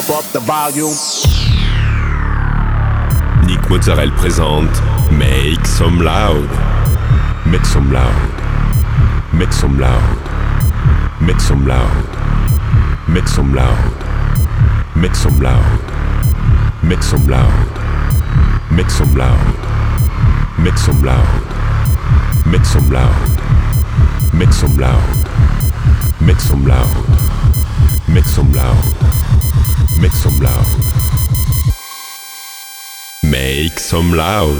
pump up the volume. Nick Mozzarella présente Make Some Loud. Make some loud. Make some loud. Make some loud. Make some loud. Make some loud. Make some loud. Make some loud. Make some loud. Make some loud. Make some loud. Make some loud. Make some loud. Make some loud. Make some loud.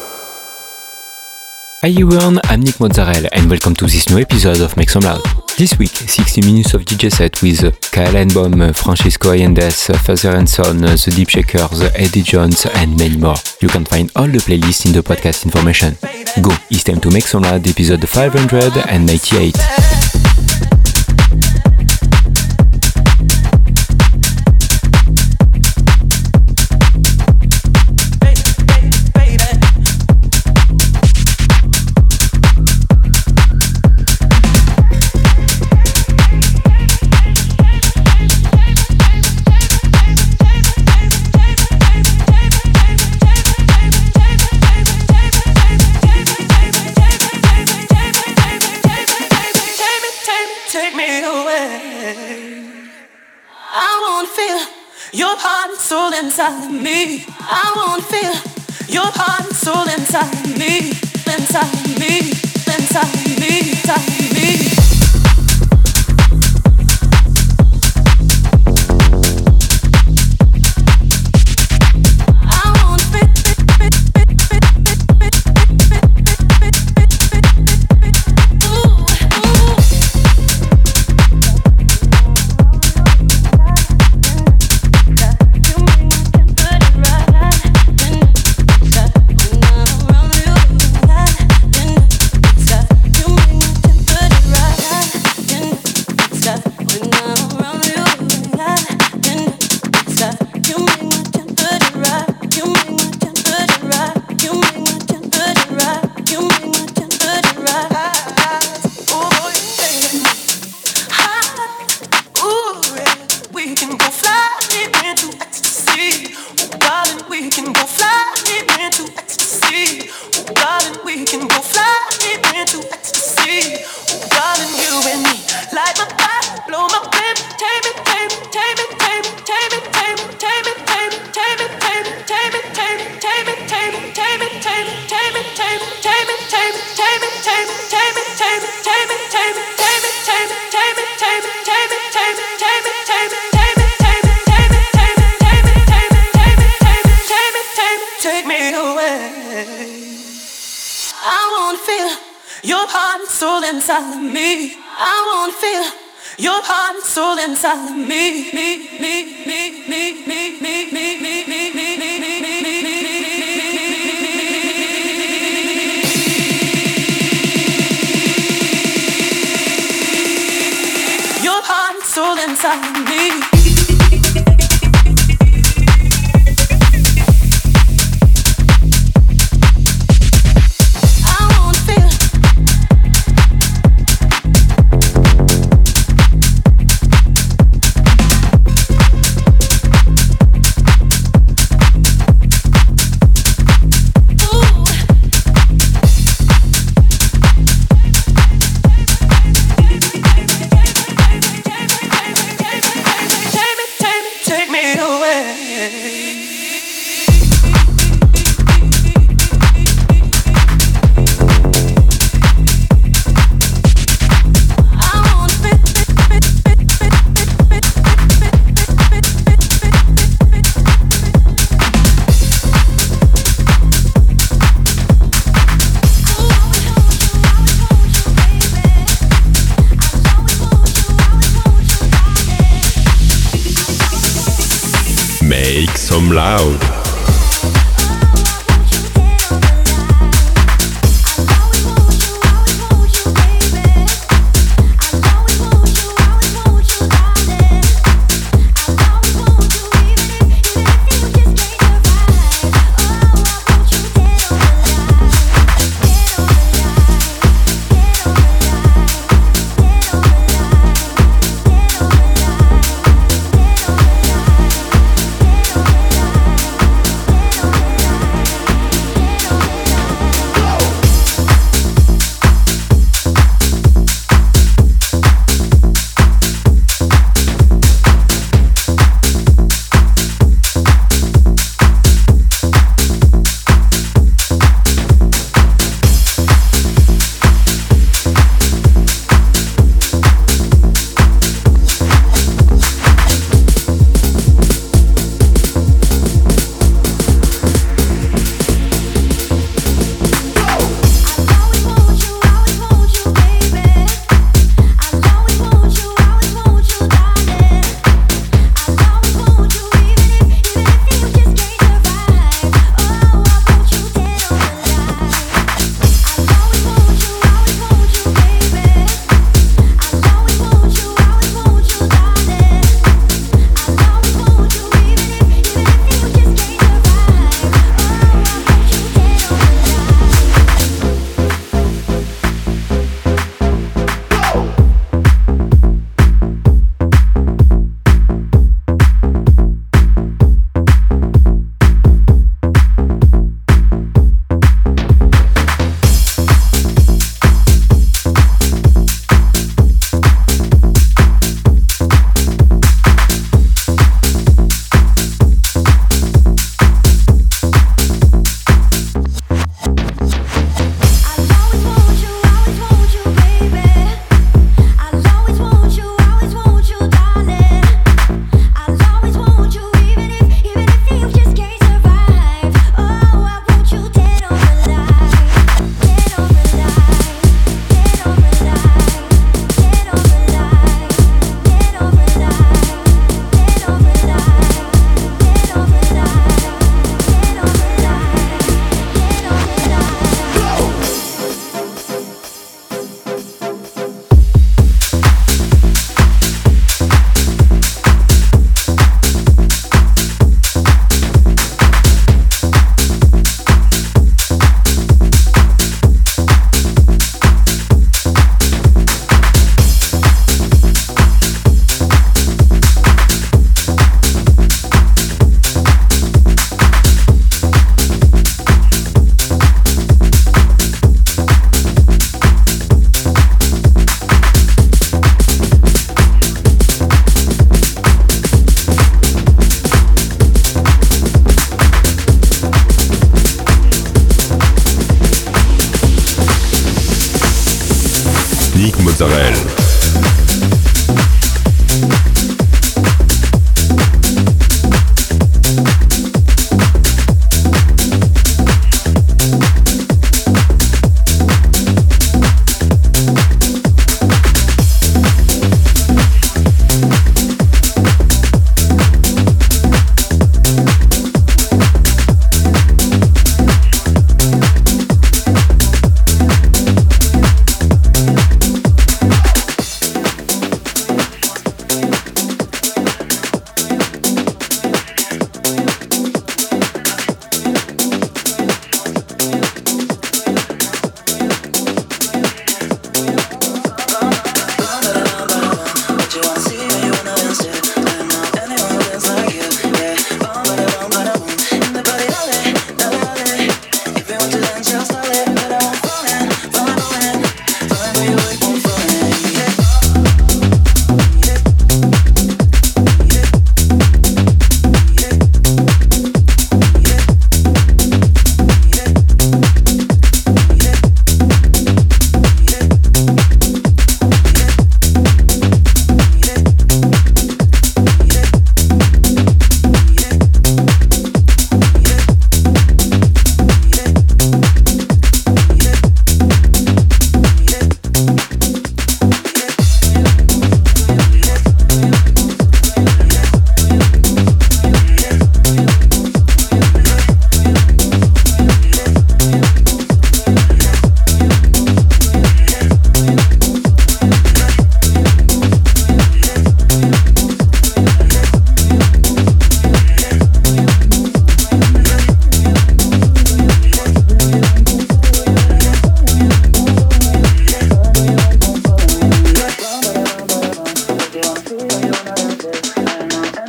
Hi everyone, I'm Nick Mozzarella and welcome to this new episode of Make Some Loud. This week, 60 minutes of DJ set with Kyle Einbaum, Francisco Ayendes, Father and Son, The Deep Shakers, Eddie Jones and many more. You can find all the playlists in the podcast information. Go, it's time to Make Some Loud episode 598. Inside of me, I wanna feel your heart and soul inside of me, inside of me, inside of me, inside of me. Inside of me, I wanna feel your heart and soul inside of me, your heart and soul inside of me. Make some loud.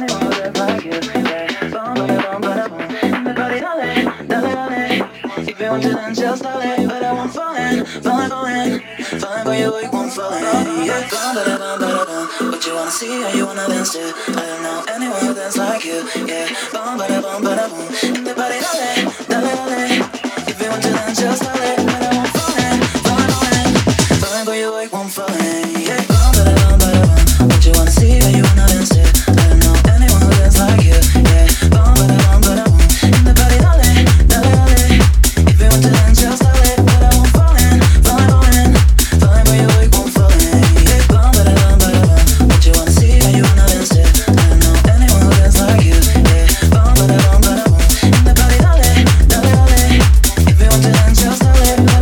Just a little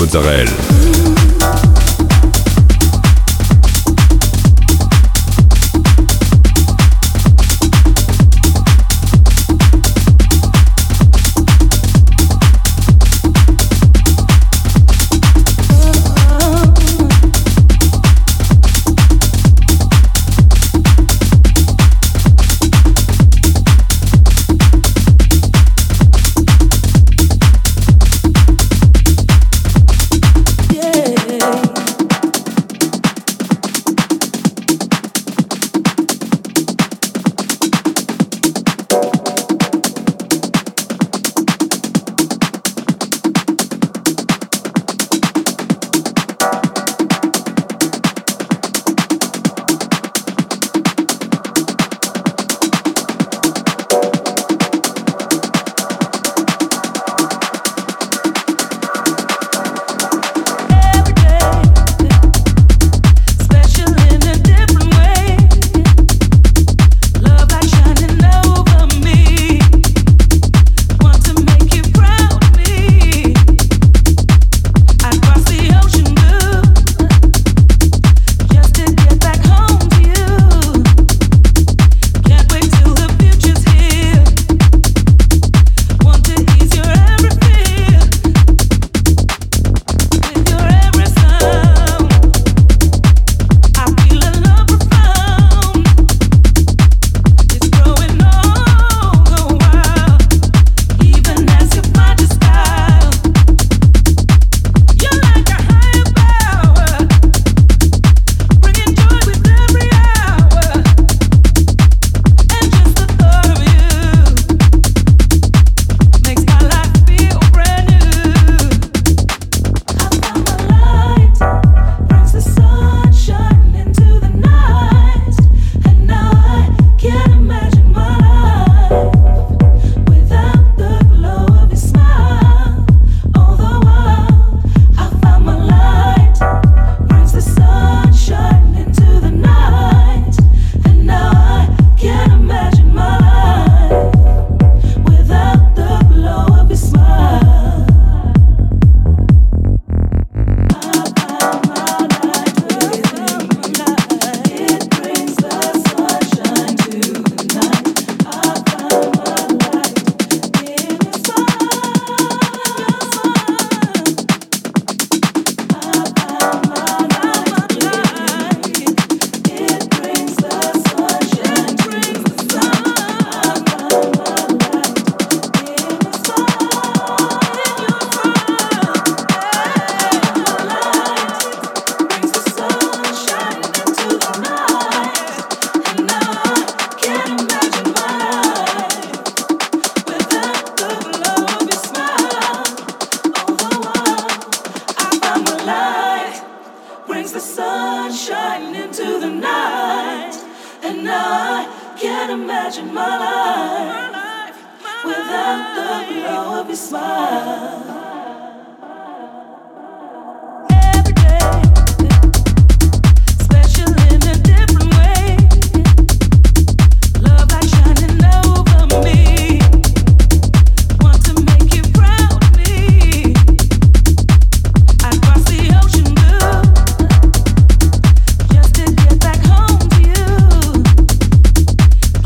Mozzarella.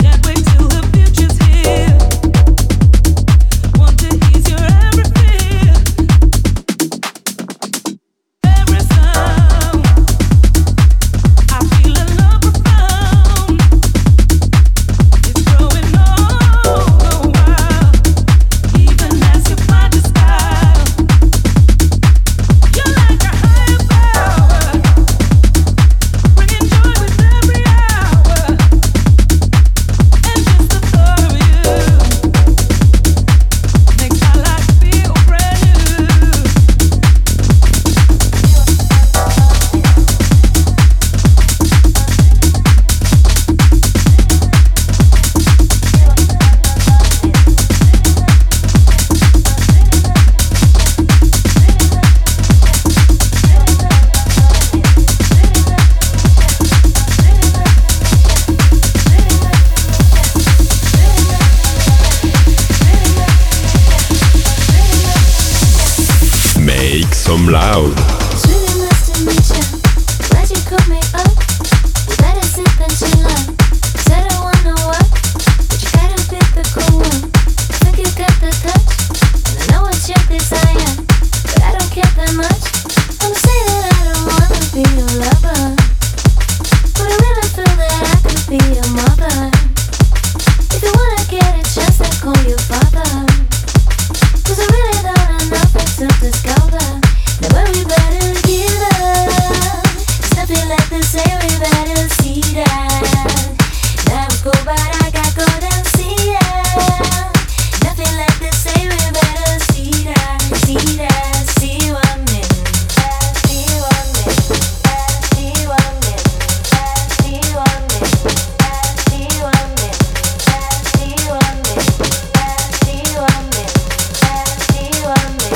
Feel Loud. It's really nice to meet ya. Glad you called me up. We better sit and chill out. Said I wanna what, but you gotta pick the cool one. I think you got the touch, and I know it's your desire, but I don't care that much. I'ma say that I don't wanna be your lover, but I really feel that I could be your mother. If you wanna get a chance, then call your father, 'cause I really don't have nothing to discover. Now when we better give up, it's nothing like to say we better see that. Now go but I got go down see that. Nothing like to say we better see that, see that, see what me, see what me, see what me, see what me, see what me, see what me, see what me, see what me.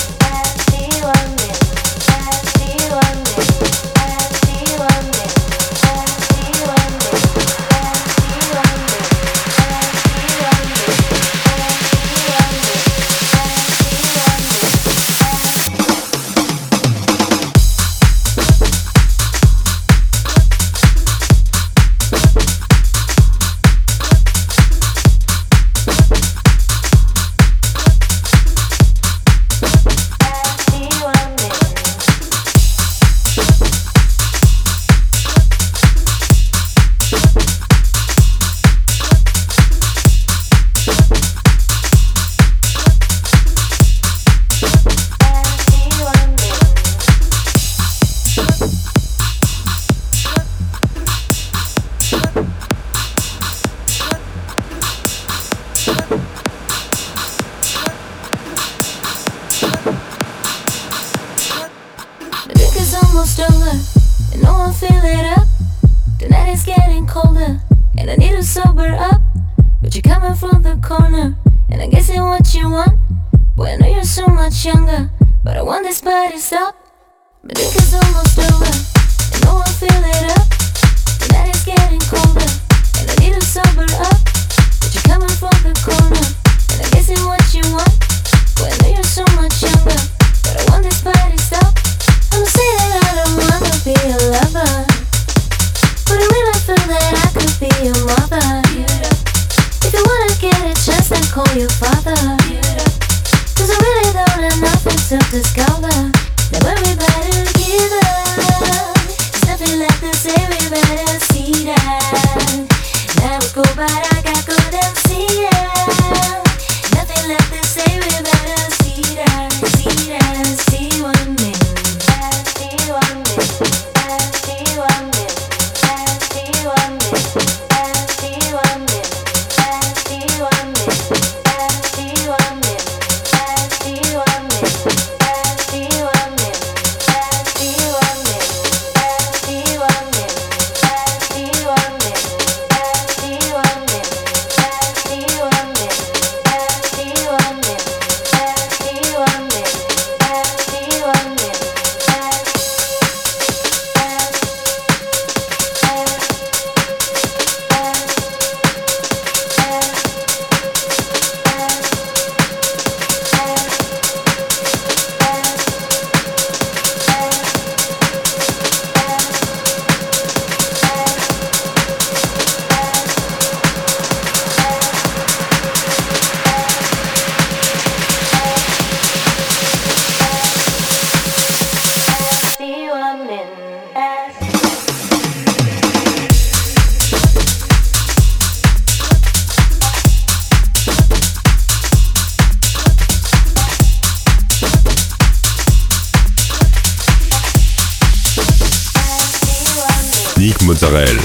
Mozzarella.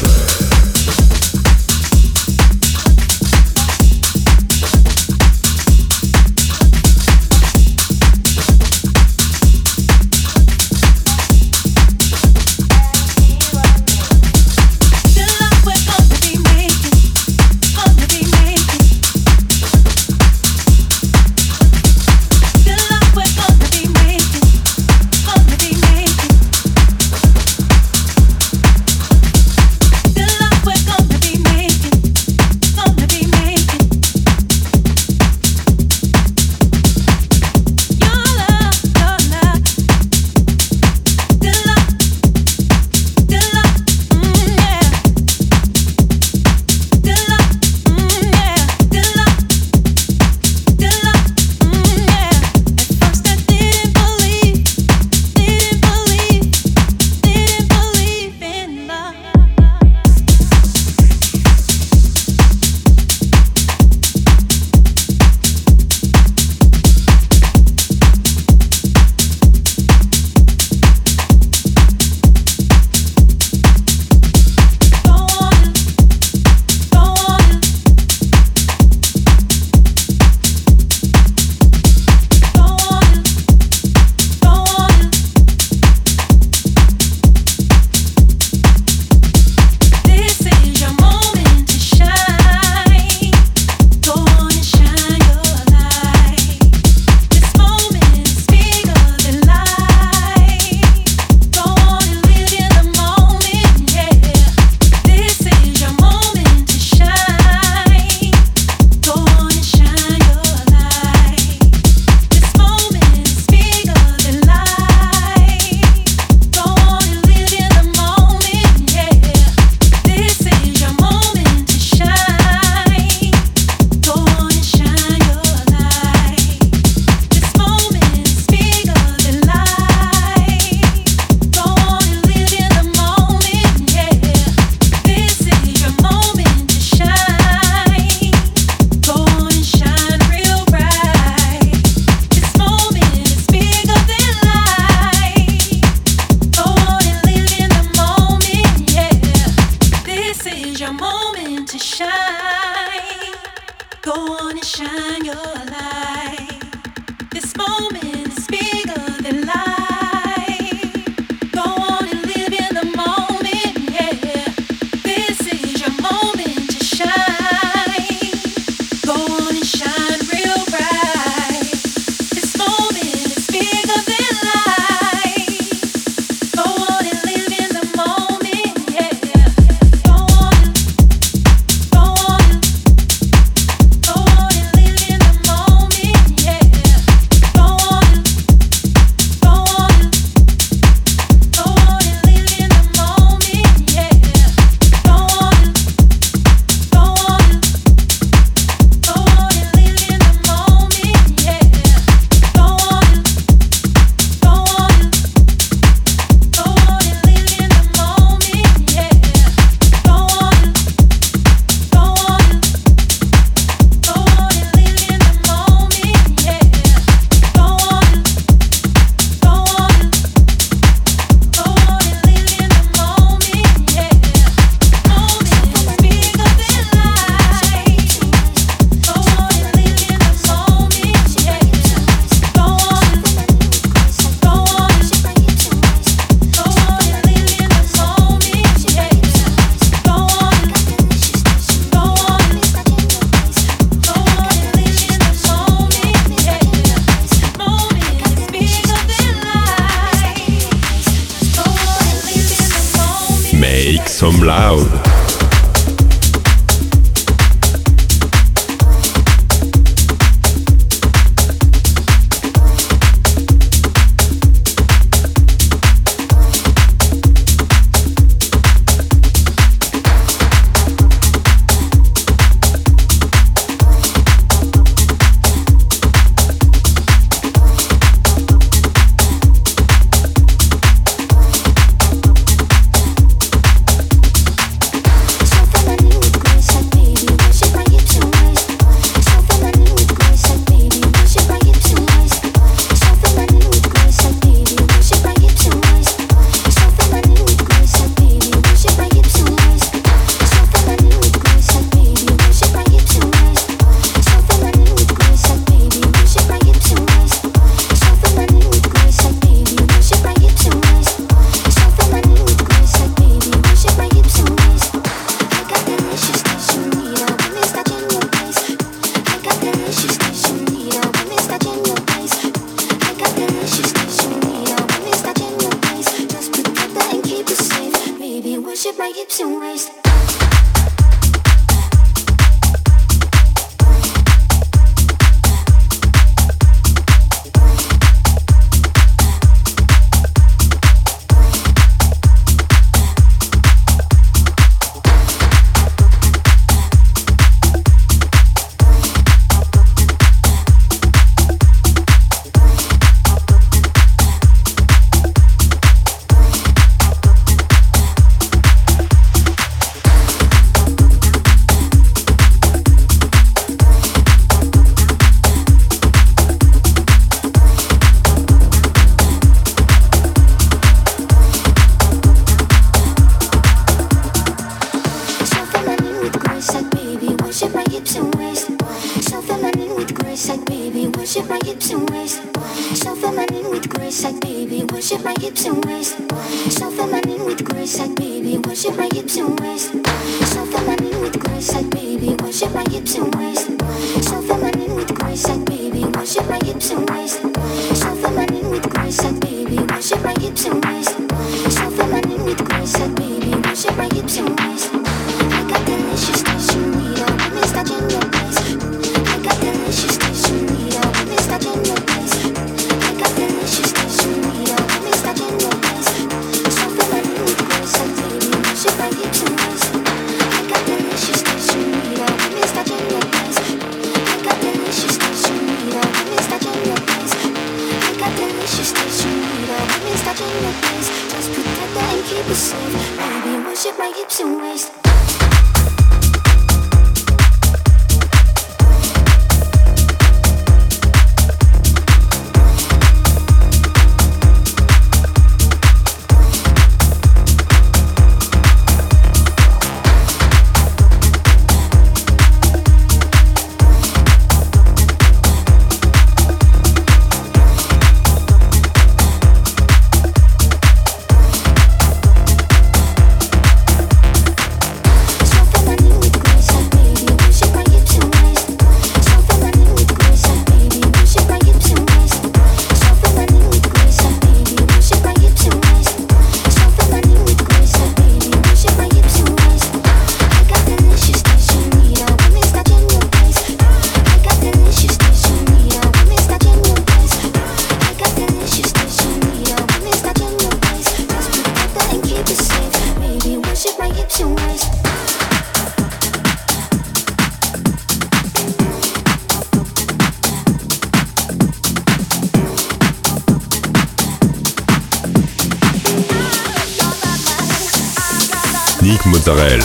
your moment to shine. Go on and shine your light. This moment is bigger than life. Go on and live in the moment, yeah. This is your moment to shine. Go on and shine real bright. This moment is bigger than life. Go on and live in the moment, yeah. Go on and live in the moment, yeah. Go on and Make some loud. Delicious that you need, I miss touching your face. Yannick Mozzarella.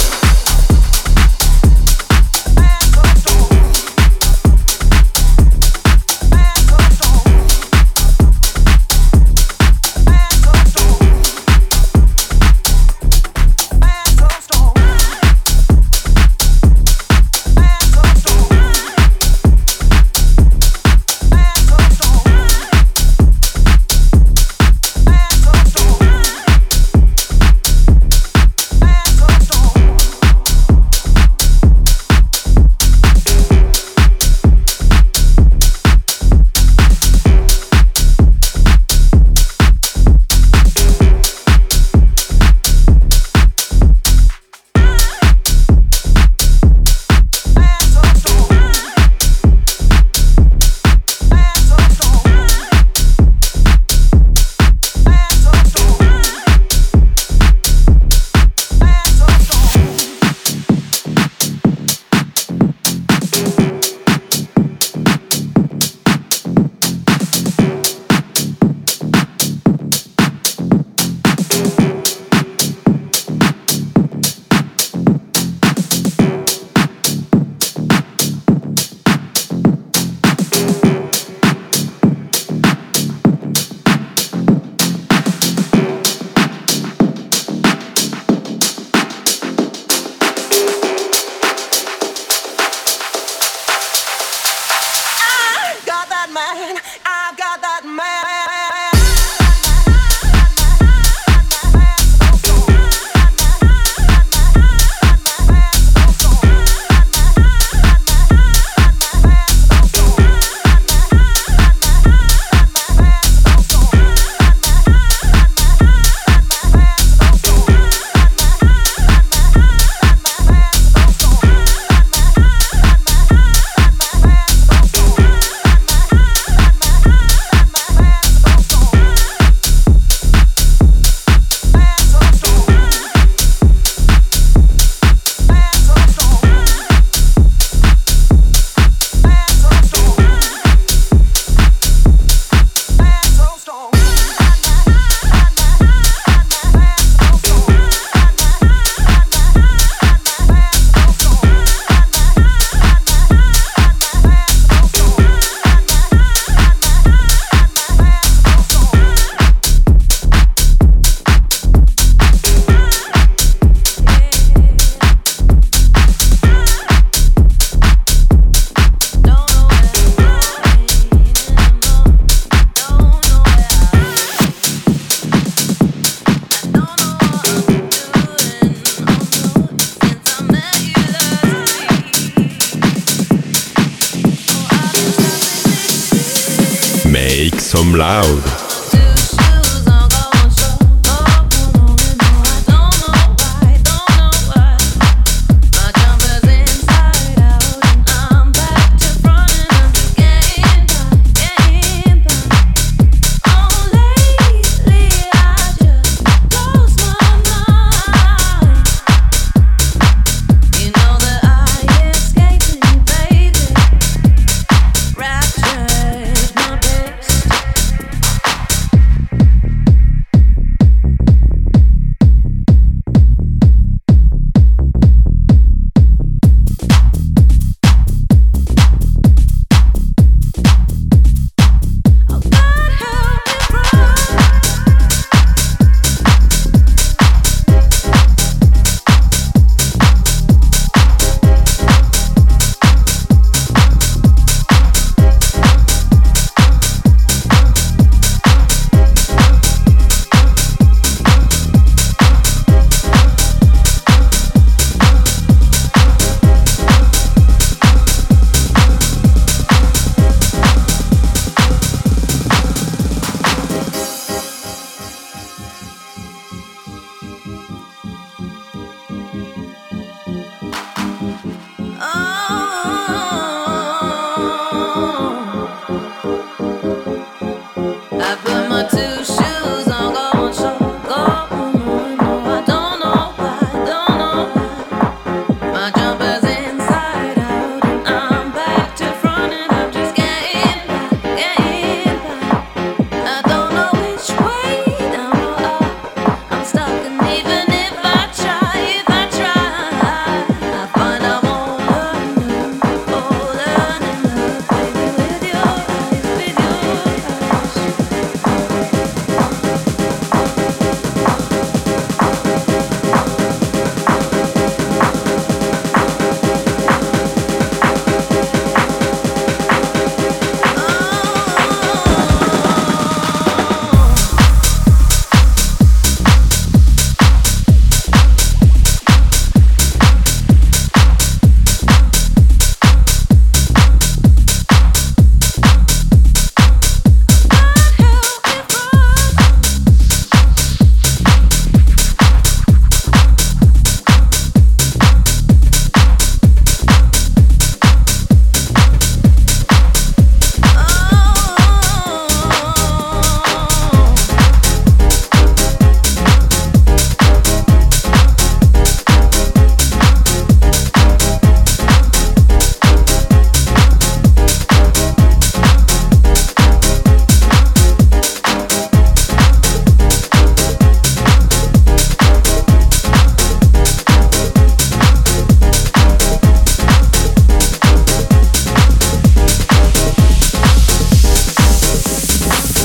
Make some loud.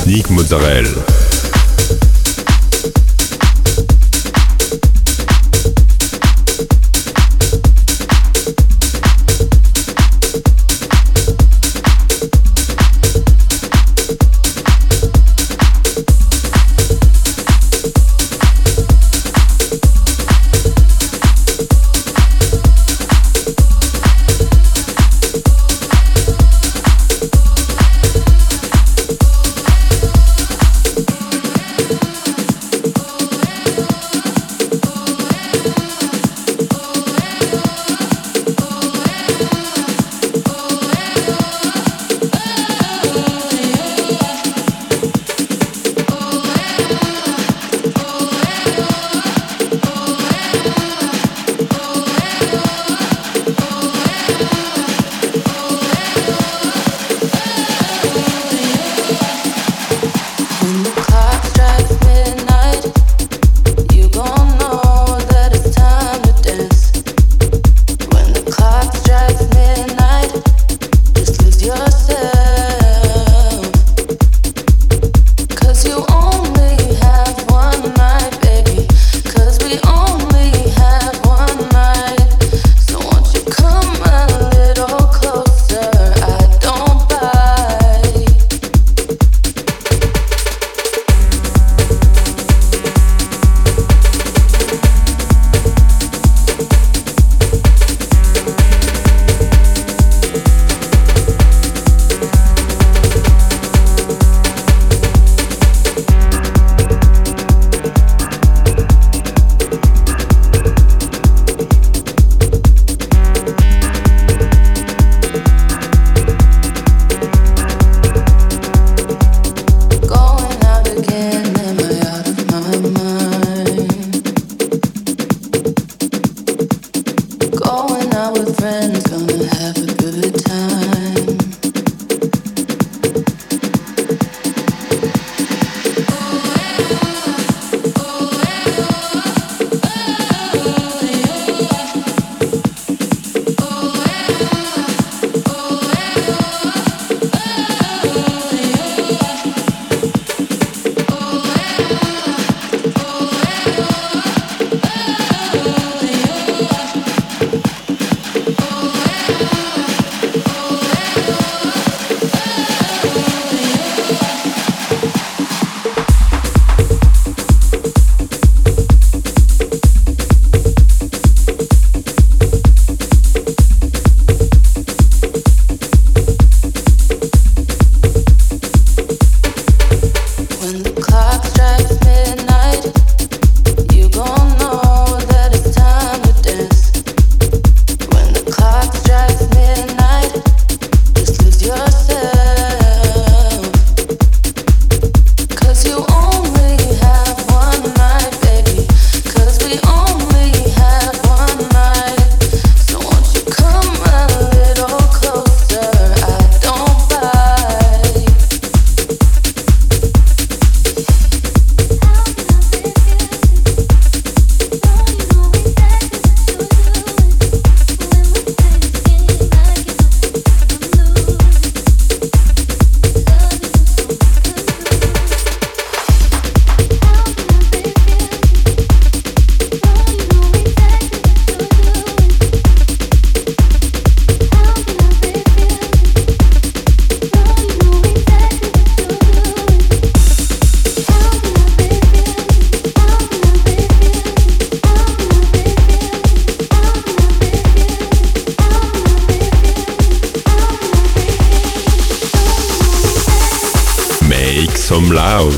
Nick Mozzarella. Some Loud.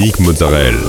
Yannick Mozzarella.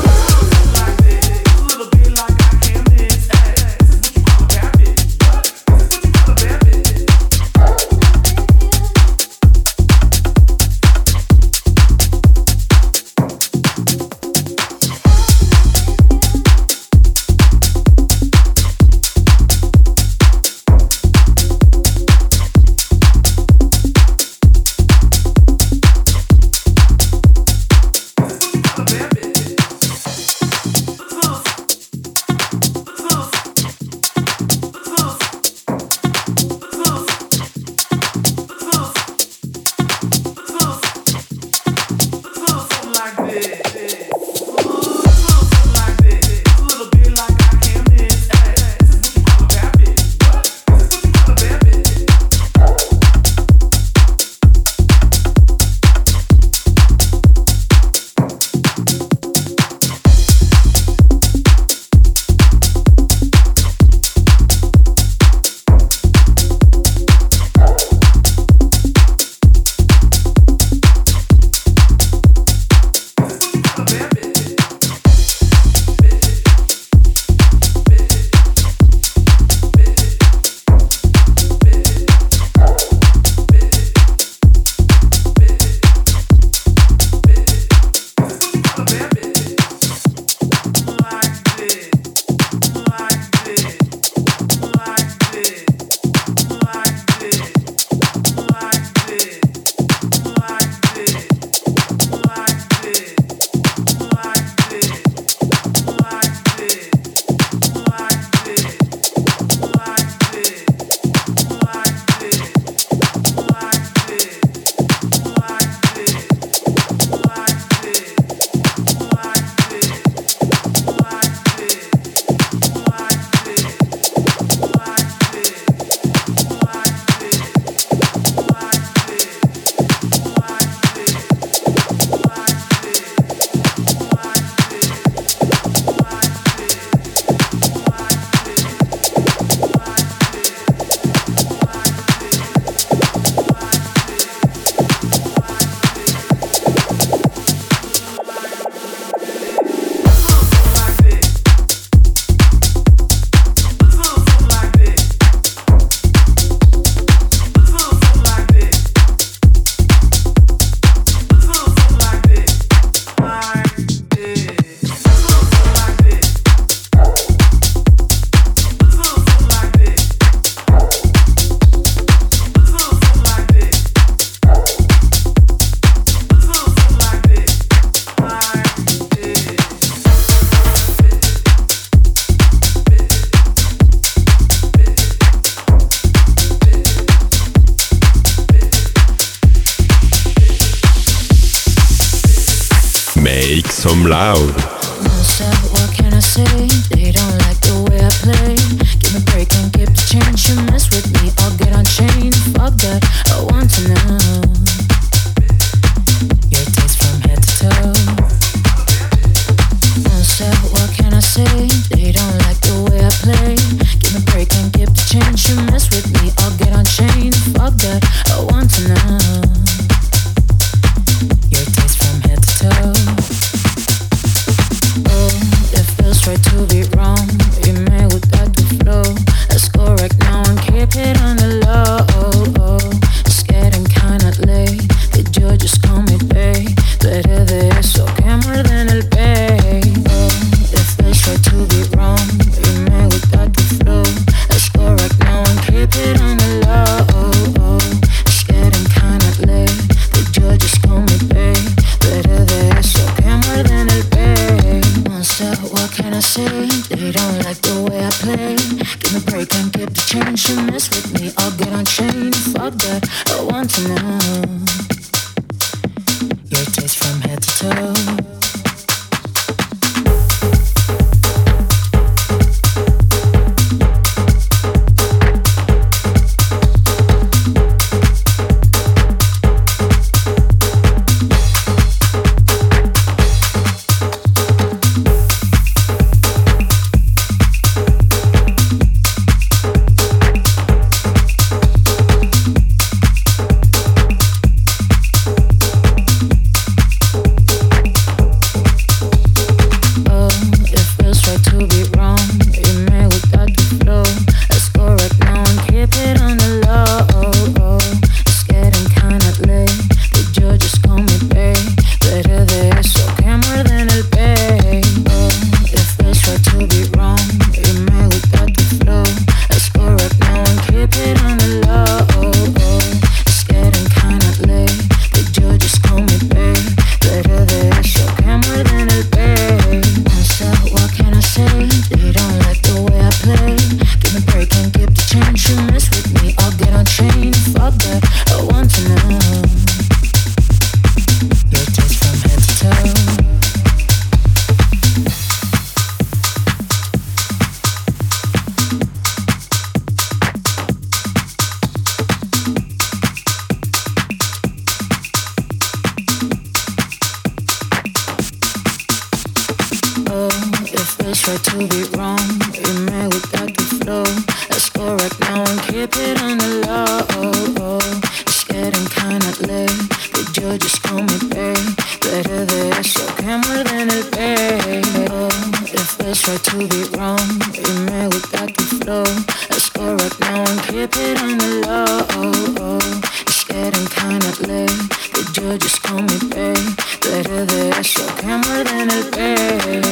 Make some loud. What can I say? They don't like the way I play. Give me a break and keep the change. You mess with me, I'll get unchained. Fuck that, I want to know your taste from head to toe. What can I say? They don't like the way I play. Give me a break and keep the change. You mess with me, I'll get unchained. Fuck that, I want to know your taste from head to toe. Try to be wrong, you may without the flow. Let's go right now and keep it on the low. It's getting kinda late. Did you just call me babe? Better de eso que more than el babe. It feels right to be wrong, you may without the flow. Let's go right now and keep it on the low. It's getting kinda late. Did you just call me babe? Better de eso que more than el babe. What can I say? They don't like the way I play. Give me a break and keep the change. You mess with me, I'll get unchained. Fuck that, I want to know your taste from head to toe. try to be wrong. You may without the flow. Let's go right now and keep it on the low. It's getting kinda late, but you just call me babe. Better de eso que muerden el pelo. If let's try to be wrong, you may without the flow. Let's go right now and keep it on the low. It's getting kinda late, but you just call me babe. Better de eso que muerden el pelo.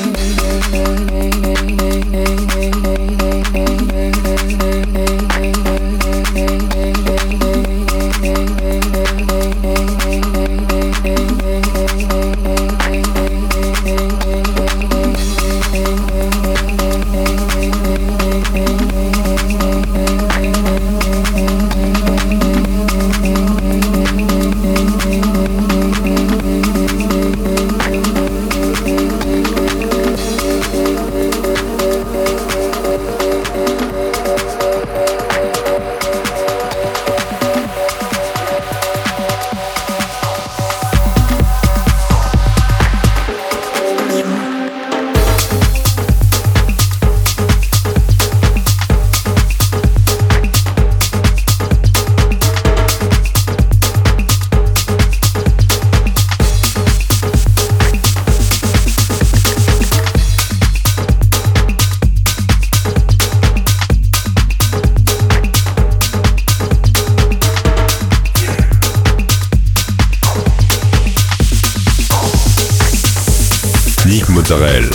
Mozzarella.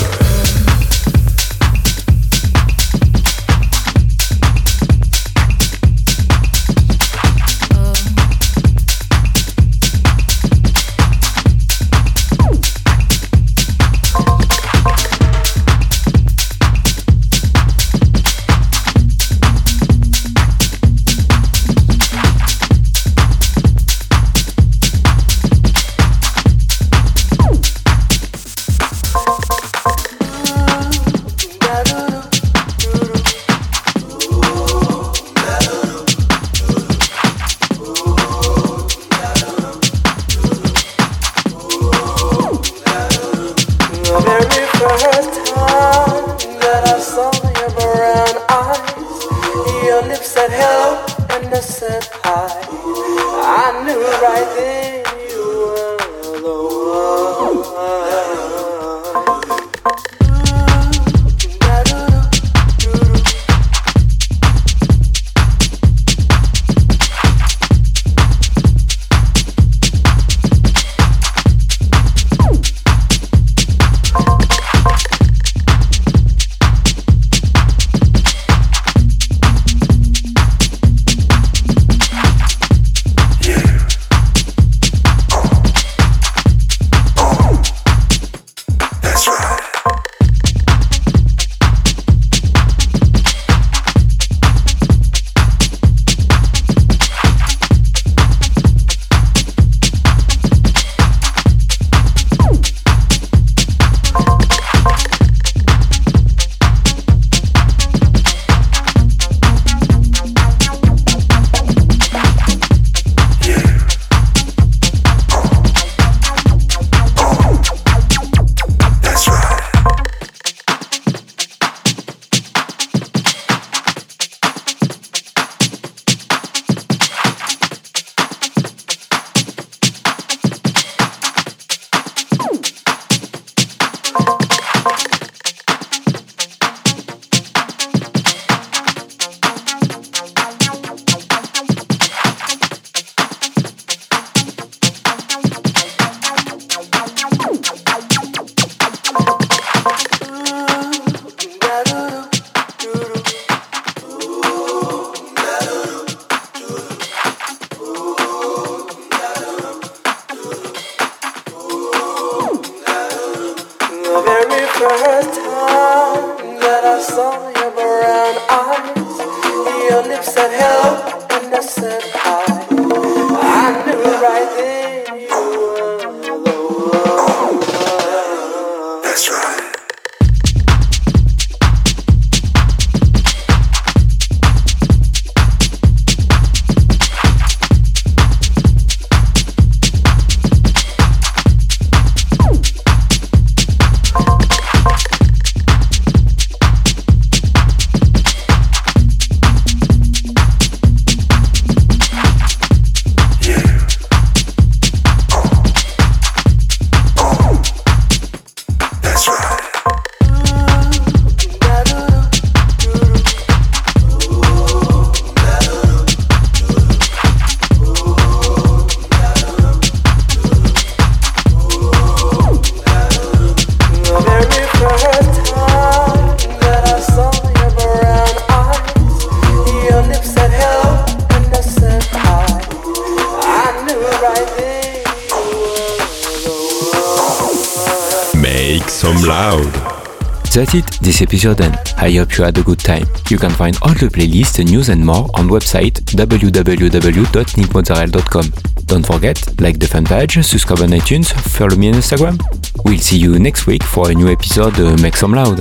Loud. That's it, this episode and I hope you had a good time. You can find all the playlists, news and more on website www.nickmozzarella.com. Don't forget, like the fan page, subscribe on iTunes, follow me on Instagram. We'll see you next week for a new episode Make Some Loud.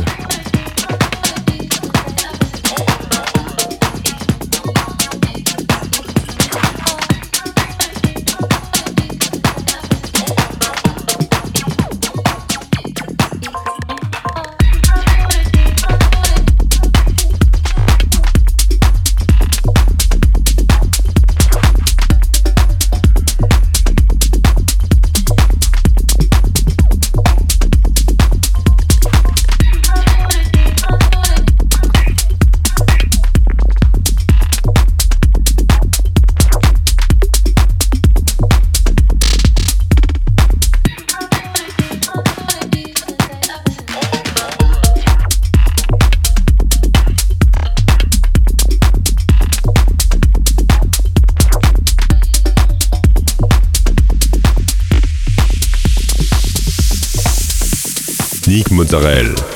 Nick Mozzarella.